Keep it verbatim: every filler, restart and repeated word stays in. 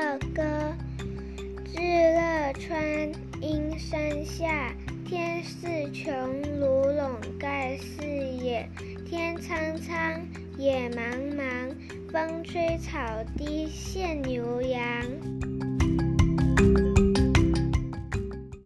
歌。至乐川阴山下，天似穹庐笼盖四野。天苍苍，野茫茫，风吹草低见牛羊。